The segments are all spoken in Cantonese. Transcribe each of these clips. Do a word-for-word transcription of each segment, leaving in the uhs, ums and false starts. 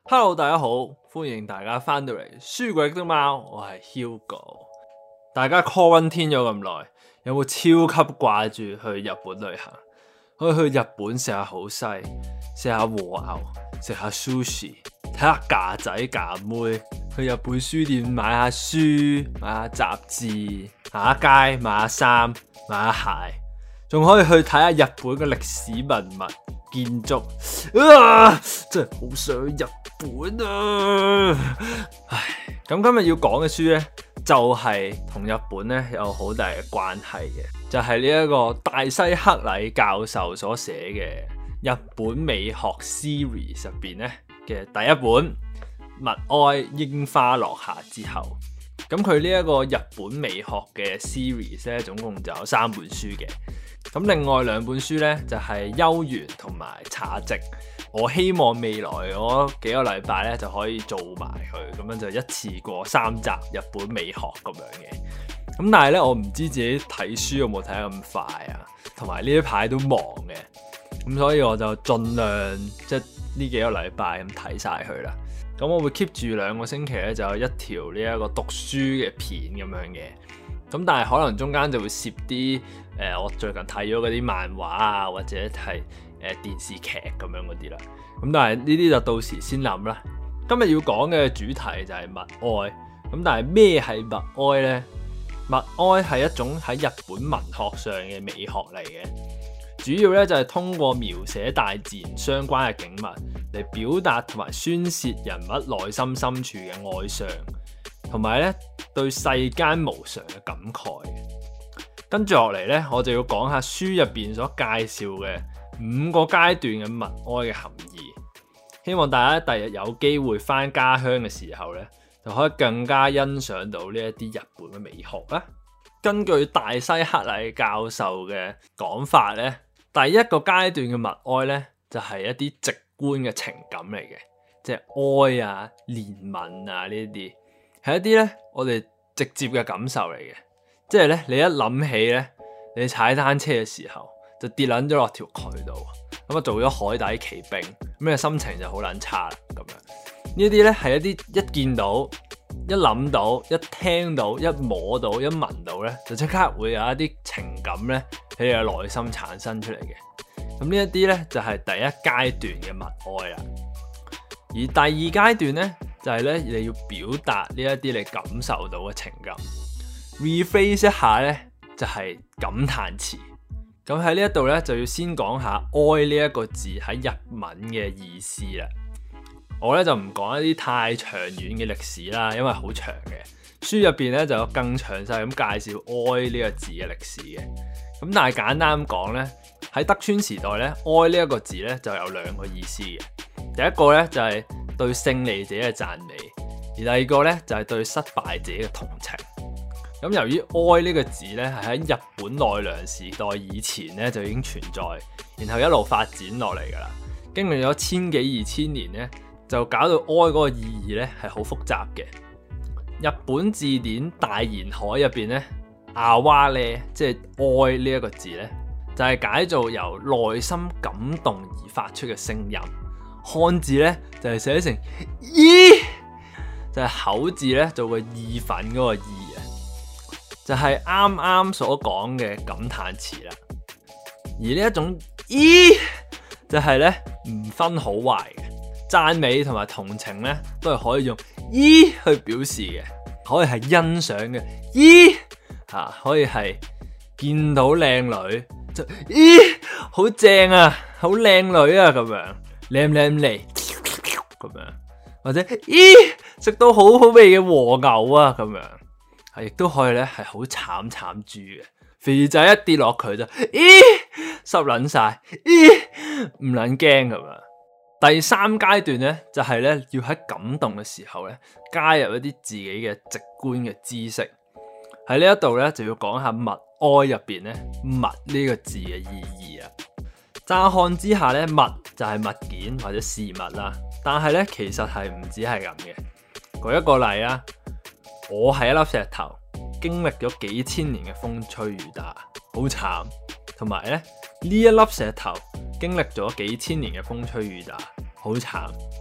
Hello， 大家好，歡迎大家翻到嚟書櫃的貓，我係 Hugo。大家 quarantine 咗咁耐，有冇超級掛住去日本旅行？可以去日本食下好西，食下和牛，食下 sushi， 睇下架仔架妹，去日本書店買下書，買下雜誌，行下街買下衫，買下鞋，仲可以去睇下日本嘅歷史文物。建築啊，真係好想日本啊！唉，咁今日要講嘅書呢，就係、是、同日本呢有好大嘅關係嘅，就係呢一個大西克禮教授所寫嘅日本美學 series 入邊呢嘅第一本《物哀櫻花落下之後》。咁佢呢一個日本美學嘅 series 咧，總共就有三本書嘅。咁另外兩本書呢，就係《幽園》同埋《茶席》。我希望未來嗰幾個禮拜呢，就可以做埋佢，咁樣就一次過三集日本美學咁樣嘅。咁但係呢，我唔知自己睇書有冇睇得咁快啊，同埋呢一排都忙嘅，咁所以我就盡量即係呢幾個禮拜咁睇晒佢啦。咁我會 keep 住兩個星期咧，就有一條呢一個讀書嘅片咁樣嘅。咁但係可能中間就會攝啲誒，我最近睇咗嗰啲漫畫啊，或者係誒、呃、電視劇咁樣嗰啲啦。咁但係呢啲就到時先諗啦。今日要講嘅主題就係物哀。咁但係咩係物哀呢？物哀係一種喺日本文學上嘅美學嚟嘅。主要咧就係通過描寫大自然相關嘅景物嚟表達同埋宣泄人物內心深處嘅哀傷，同埋咧對世間無常嘅感慨。跟住落嚟咧，我就要講下書入邊所介紹嘅五個階段嘅物哀嘅含義。希望大家第日有機會翻家鄉嘅時候咧，就可以更加欣賞到呢一啲日本嘅美學啦。根據大西克禮教授嘅講法咧，第一個階段嘅物哀咧，就係、是、一啲直觀嘅情感嚟嘅，即係哀啊、憐憫啊呢啲，係一啲咧我哋直接嘅感受嚟嘅。即係咧，你一諗起咧，你踩單車嘅時候就跌撚咗落條渠度，咁啊做咗海底奇兵，咁你心情就好撚差啦。咁樣呢啲咧係一啲一見到、一諗到、一聽到、一摸到、一聞到咧，就即刻會有一啲情感咧喺你嘅內心產生出嚟嘅。咁呢一啲咧就係、是、第一階段嘅物哀啦。而第二階段咧就係、是、咧你要表達呢一啲你感受到嘅情感。rephrase 一下咧就係、是、感嘆詞。咁喺呢一度咧就要先講下哀呢一個字喺日文嘅意思啦。我咧就唔講一啲太長遠嘅歷史啦，因為好長嘅。書入邊咧就有更詳細咁介紹哀呢個字嘅歷史嘅。咁但係簡單咁講咧，喺德川時代咧，哀呢一個字咧就有兩個意思嘅。第一個咧就係、是、對勝利者嘅讚美，而第二個咧就係、是、對失敗者嘅同情。咁由於哀呢個字咧係喺日本奈良時代以前咧就已經存在，然後一路發展落嚟噶啦，經歷咗千幾二千年咧，就搞到哀嗰個意義咧係好複雜嘅。日本字典大言海入邊咧，阿哇咧即係哀呢一個字咧，就係、是、解做由內心感動而發出嘅聲音。漢字咧就係、是、寫成咦，就係、是、口字咧做個意憤嗰個意啊，就係啱啱所講嘅感嘆詞啦。而呢一種咦，就係咧唔分好壞嘅。讚美同埋同情咧，都係可以用咦去表示嘅，可以係欣賞嘅咦吓，可以係見到靚女就咦好正啊，好靚女啊咁樣，靚唔靚嚟咁樣，或者咦食到好好味嘅和牛啊咁樣，係亦都可以咧係好慘慘豬嘅，肥仔一跌落佢就咦濕撚晒，咦唔撚驚咁樣。第三階段咧，就係、是、咧要喺感動嘅時候咧，加入一啲自己嘅直觀嘅知識。喺呢一度咧，就要講下物哀入邊咧物呢個字嘅意義啊。乍看之下咧，物就係物件或者事物啦，但係咧其實係唔止係咁嘅。舉一個例啊，我係一粒石頭，經歷咗幾千年嘅風吹雨打，好慘。同埋咧呢一粒石頭經歷咗幾千年嘅風吹雨打，好慘。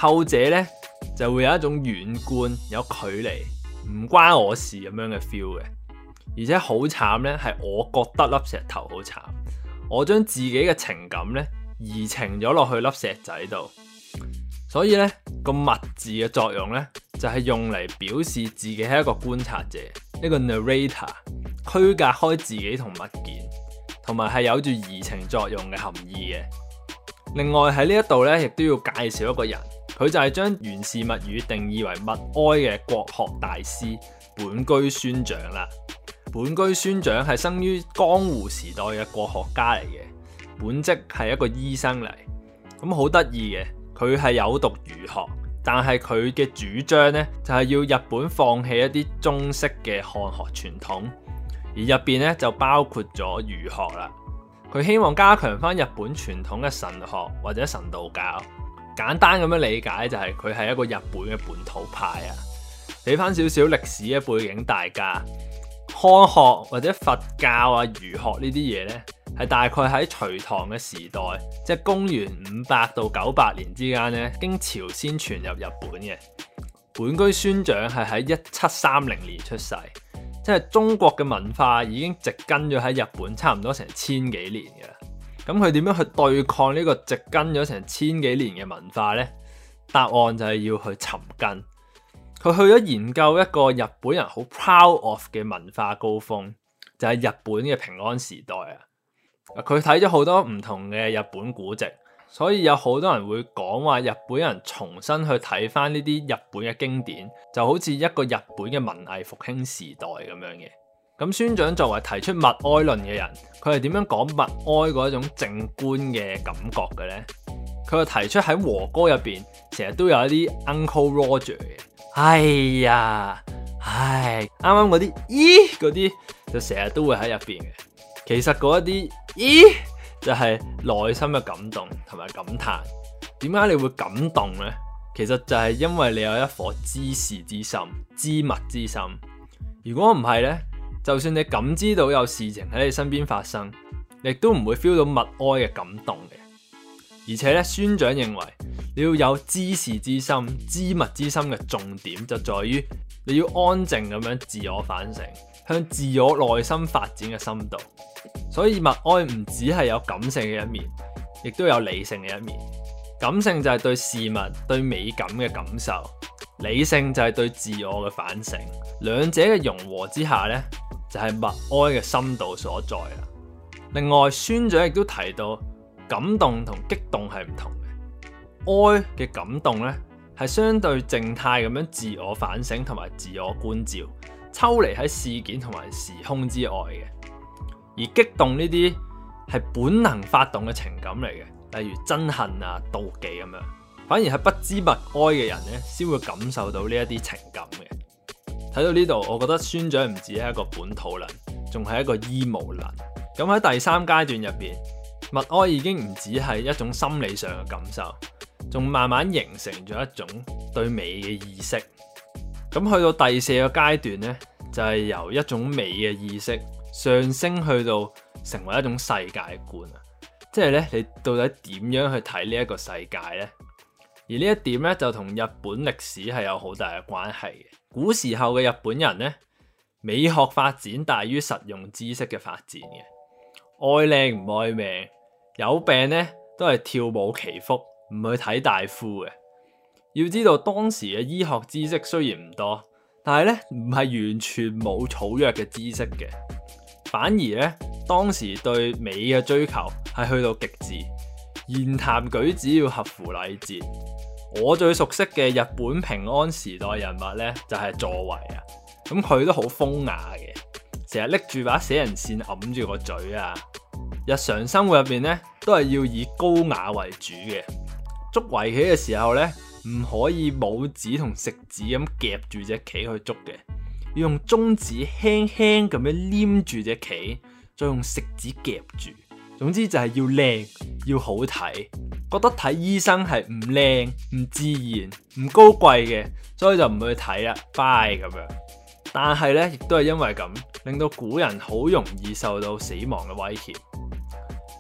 後者呢，就會有一種遠觀、有距離、唔關我事咁樣嘅 feel 嘅。而且好慘呢，係我覺得粒石頭好慘，我將自己嘅情感呢移情咗落去粒石仔度。所以呢個物字嘅作用呢，就係用嚟表示自己係一個觀察者，一個 narrator， 區隔開自己同物件，同埋係有住移情作用嘅含義嘅。另外喺呢一度呢，亦都要介紹一個人，佢就係將源氏物語定義為物哀嘅國學大師本居宣長啦。本居宣長係生於江戶時代嘅國學家嚟嘅，本職係一個醫生嚟。咁好得意嘅，佢係有讀儒學，但係佢嘅主張呢，就係要日本放棄一啲中式嘅漢學傳統，而入邊呢，就包括咗儒學啦。佢希望加強翻日本傳統嘅神學或者神道教。簡單咁樣理解就係佢係一個日本嘅本土派啊。俾翻少少歷史嘅背景大家。漢學或者佛教啊、儒學呢啲嘢呢，係大概喺隋唐嘅時代，即係公元五百到九百年之間呢，經朝鮮傳入日本嘅。本居宣長係喺一七三零年出世，即係中國嘅文化已經植根咗喺日本差唔多成千幾年嘅啦。咁佢點樣去對抗呢個植根咗成千幾年嘅文化呢？答案就係要去尋根。佢去咗研究一個日本人好 proud of 嘅文化高峰，就係日本嘅平安時代啊！佢睇咗好多唔同嘅日本古籍，所以有好多人會講話日本人重新去睇翻呢啲日本嘅經典，就好似一個日本嘅文藝復興時代咁樣嘅。咁宣長作為提出物哀論嘅人，佢係點樣講物哀嗰一種靜觀嘅感覺嘅呢？佢就提出喺和歌入邊，成日都有一啲 Uncle Roger 嘅。哎呀，唉，啱啱嗰啲咦嗰啲就成日都會喺入邊嘅。其實嗰一啲咦就係內心嘅感動同埋感嘆。點解你會感動呢？其實就係因為你有一顆知事之心、知物之心。如果唔係呢，就算你感知到有事情喺你身邊發生，你亦都唔會 feel 到物哀嘅感動嘅。而且咧，宣長認為你要有知事之心、知物之心嘅重點就在於你要安靜咁樣自我反省，向自我內心發展嘅深度。所以物哀唔只係有感性嘅一面，亦都有理性嘅一面。感性就係對事物、對美感嘅感受，理性就係對自我嘅反省。兩者嘅融合之下呢，就係物哀嘅深度所在啦。另外，宣長亦都提到，感動同激動係唔同嘅。哀嘅感動呢，係相對靜態咁樣自我反省同埋自我觀照，抽離喺事件同埋時空之外嘅。而激動呢啲係本能發動嘅情感嚟嘅，例如憎恨啊、妒忌咁樣。反而係不知物哀嘅人呢，先會感受到呢一啲情感嘅。睇到呢度，我覺得宣長唔止係一個本土能，仲係一個 emo 能。咁喺第三階段入邊，物哀已經唔只係一種心理上嘅感受，仲慢慢形成咗一種對美嘅意識。咁去到第四個階段呢，就係由一種美嘅意識上升去到成為一種世界觀啊！即係咧，你到底點樣去睇呢一個世界呢？而呢一點咧，就同日本歷史係有好大嘅關係嘅。古時候嘅日本人呢，美學發展大於實用知識嘅發展嘅，愛靚唔愛命，有病呢都係跳舞祈福，唔去睇大夫嘅。要知道當時嘅醫學知識雖然唔多，但係咧唔係完全冇草藥嘅知識嘅，反而咧當時對美嘅追求係去到極致，言談舉止要合乎禮節。我最熟悉嘅日本平安時代人物咧就係佐為啊，咁佢都好風雅嘅，成日拎住把死人扇揞住個嘴啊。日常生活入邊咧都係要以高雅為主嘅，捉圍棋嘅時候咧唔可以拇指同食指咁夾住隻棋去捉嘅，要用中指輕輕咁樣黏住隻棋，再用食指夾住。總之就係要靚，要好睇。覺得睇醫生係唔靚、唔自然、唔高貴嘅，所以就唔去睇啦，bye咁樣。但係咧，亦都係因為咁，令到古人好容易受到死亡嘅威脅。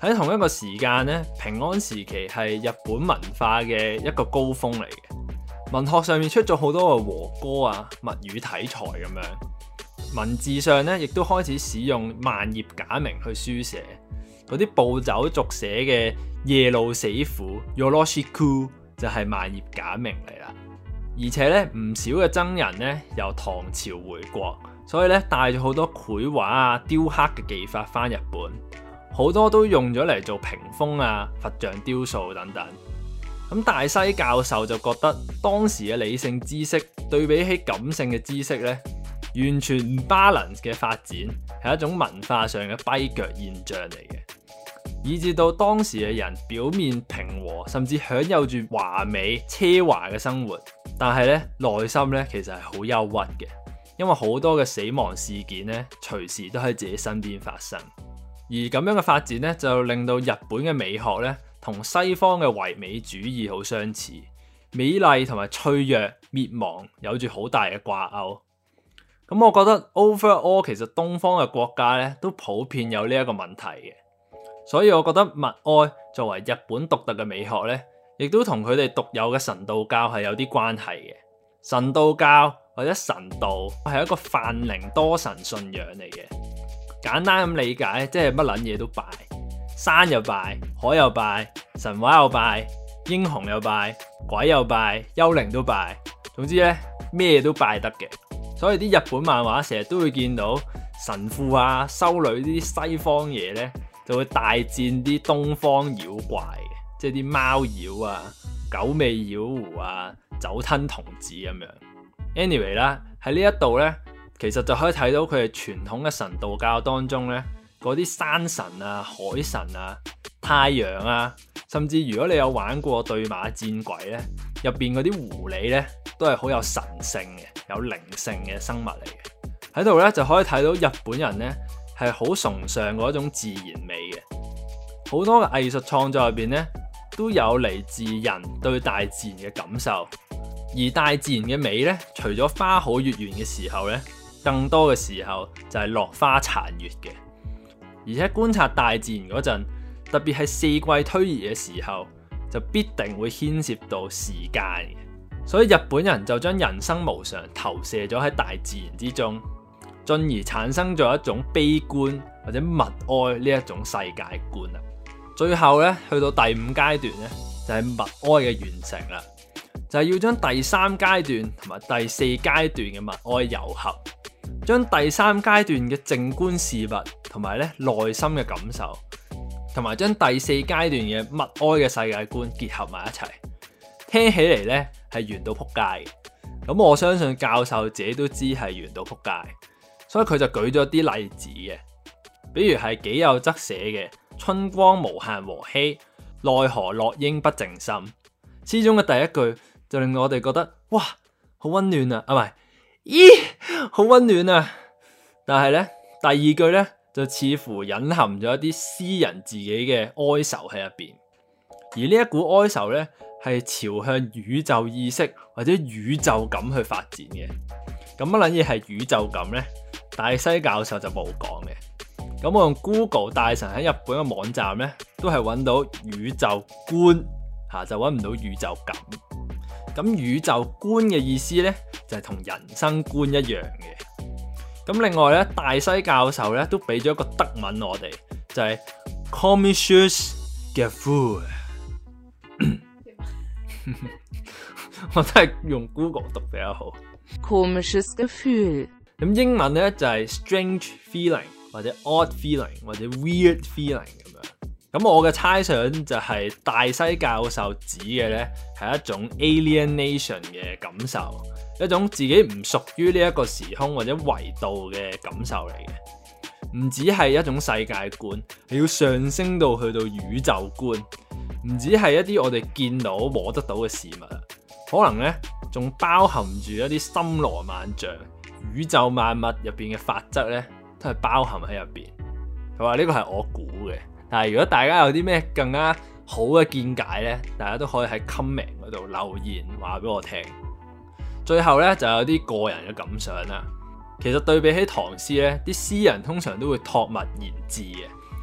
喺同一個時間咧，平安時期係日本文化嘅一個高峰嚟嘅。文學上面出咗好多嘅和歌啊、物語題材咁樣，文字上咧亦都開始使用萬葉假名去書寫。嗰啲暴走族寫嘅夜路死苦 Yoroshiku 就係萬葉假名嚟啦。而且咧唔少嘅僧人咧由唐朝回國，所以咧帶咗好多繪畫啊、雕刻嘅技法翻日本。好多都用咗嚟做屏風啊、佛像雕塑等等。咁大西教授就覺得當時嘅理性知識對比起感性嘅知識咧，完全唔 balance 嘅發展，係一種文化上嘅跛腳現象嚟嘅。以至到當時嘅人表面平和，甚至享有住華美奢華嘅生活，但係咧內心咧其實係好憂鬱嘅，因為好多嘅死亡事件咧隨時都喺自己身邊發生。而咁樣嘅發展咧，就令到日本嘅美學咧，同西方嘅唯美主義好相似，美麗同埋脆弱滅亡有住好大嘅掛鈎。咁我覺得 overall 其實東方嘅國家咧，都普遍有呢一個問題嘅，所以我覺得物哀作為日本獨特嘅美學咧，亦都同佢哋獨有嘅神道教係有啲關係嘅。神道教或者神道係一個泛靈多神信仰嚟嘅。簡單咁理解，即係乜撚嘢都拜，山又拜，海又拜，神話又拜，英雄又拜，鬼又拜，幽靈都拜，總之咧咩都拜得嘅。所以啲日本漫畫成日都會見到神父啊、修女呢啲西方嘢咧，就會大戰啲東方妖怪嘅，即係啲貓妖啊、九尾妖狐啊、酒吞童子咁樣。Anyway 啦，喺呢一度咧。其實就可以睇到佢哋傳統嘅神道教當中咧，嗰啲山神啊、海神啊、太陽啊，甚至如果你有玩過對馬戰鬼咧，入邊嗰啲狐狸咧，都係好有神性嘅、有靈性嘅生物嚟嘅。喺度咧就可以睇到日本人咧係好崇尚嗰種自然美嘅，好多嘅藝術創作入邊咧都有嚟自人對大自然嘅感受。而大自然嘅美咧，除咗花好月圓嘅時候咧，更多嘅時候就係落花殘月嘅。而且觀察大自然嗰陣，特別係四季推移嘅時候，就必定會牽涉到時間嘅。所以日本人就將人生無常投射咗喺大自然之中，進而產生咗一種悲觀或者物哀呢一種世界觀啦。最後咧去到第五階段咧，就係物哀嘅完成啦，就係要將第三階段同埋第四階段嘅物哀糅合。將第三階段嘅靜觀事物同埋咧內心嘅感受，同埋將第四階段嘅物哀嘅世界觀結合埋一齊，聽起嚟咧係圓到撲街嘅。咁我相信教授自己都知係圓到撲街，所以佢就舉咗啲例子嘅，比如係己有則寫嘅春光無限和煦，奈何落英不靜心。詩中嘅第一句就令我哋覺得哇，好溫暖啊，啊唔係。咦，好溫暖啊！但係咧，第二句咧就似乎隱含咗一啲詩人自己嘅哀愁喺入邊，而呢一股哀愁咧係朝向宇宙意識或者宇宙感去發展嘅。咁乜撚嘢係宇宙感咧？大西教授就冇講嘅。咁我用 Google 大神喺日本嘅網站咧，都係揾到宇宙觀吓，就揾唔到宇宙感。咁宇宙觀嘅意思咧，就係、是、同人生觀一樣嘅。咁另外咧，大西教授咧都俾咗一個德文我哋，就係 komisches Gefühl。我都係用 Google 讀比較好。 komisches Gefühl。 咁英文咧就係、是、strange feeling 或者 odd feeling 或者 weird feeling 咁樣。咁我嘅猜想就係大西教授指嘅咧係一種 alienation 嘅感受，一種自己唔屬於呢一個時空或者維度嘅感受嚟嘅。唔只係一種世界觀，係要上升到去到宇宙觀，唔只係一啲我哋見到摸得到嘅事物啊，可能咧仲包含住一啲森羅萬象、宇宙萬物入邊嘅法則咧，都係包含喺入邊。佢話呢個係我估嘅。但係如果大家有啲咩更加好嘅見解咧，大家都可以喺 comment 嗰度留言話俾我聽。最後咧就有啲個人嘅感想啦。其實對比起唐詩咧，啲詩人通常都會託物言志嘅，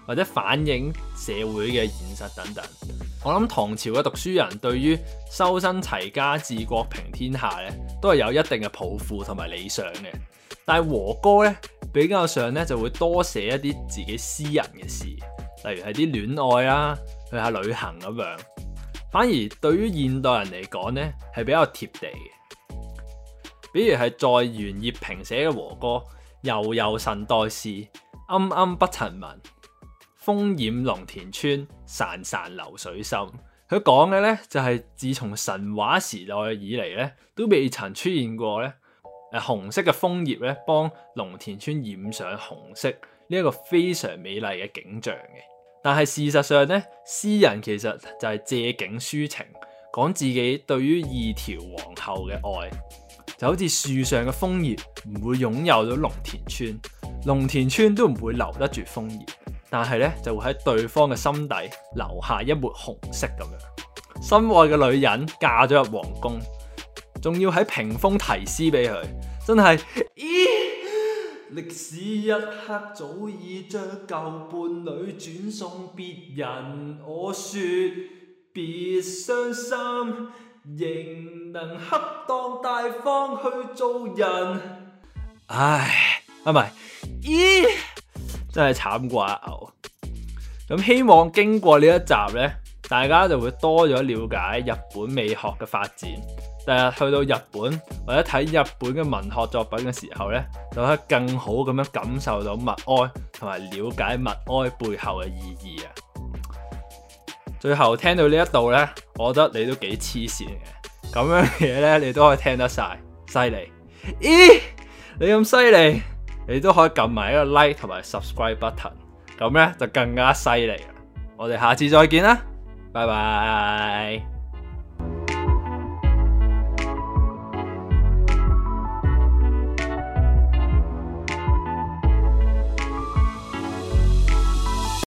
或者反映社會嘅現實等等。我諗唐朝嘅讀書人對於修身齊家治國平天下咧，都係有一定嘅抱負同埋理想嘅。但係和歌咧比較上咧就會多寫一啲自己私人嘅事，例如係啲戀愛啦、去下旅行咁樣。反而對於現代人嚟講咧係比較貼地嘅。比如係在袁葉平寫嘅和歌，悠悠神代事，暗暗不曾聞。風染龍田村，潺潺流水深。佢講嘅咧就係、是、自從神話時代以嚟咧，都未曾出現過咧誒紅色嘅楓葉咧幫龍田村染上紅色呢一、這個非常美麗嘅景象嘅。但係事實上咧，詩人其實就係借景抒情，講自己對於二條皇后嘅愛，就好似樹上嘅楓葉唔會擁有到龍田村，龍田村都唔會留得住楓葉。但係咧就會喺對方嘅心底留下一抹紅色咁樣。心愛嘅女人嫁咗入皇宮，仲要喺屏風題詩俾佢，真係咦！歷史一刻早已將舊伴侶轉送別人，我說別傷心，仍能恰當大方去做人。唉，啊唔係，咦！真係慘過阿牛。咁希望經過呢一集呢，大家就會多咗了解日本美學嘅發展。第日去到日本或者睇日本嘅文學作品嘅時候呢，就可以更好咁樣感受到默哀同埋了解默哀背後嘅意義啊！最後聽到呢一度呢，我覺得你都幾黐線嘅。咁樣嘅嘢呢，你都可以聽得晒，犀利！咦，你咁犀利！你都可以撳埋一個 like 同埋 subscribe button， 咁咧就更加犀利啦！我哋下次再見啦，拜拜。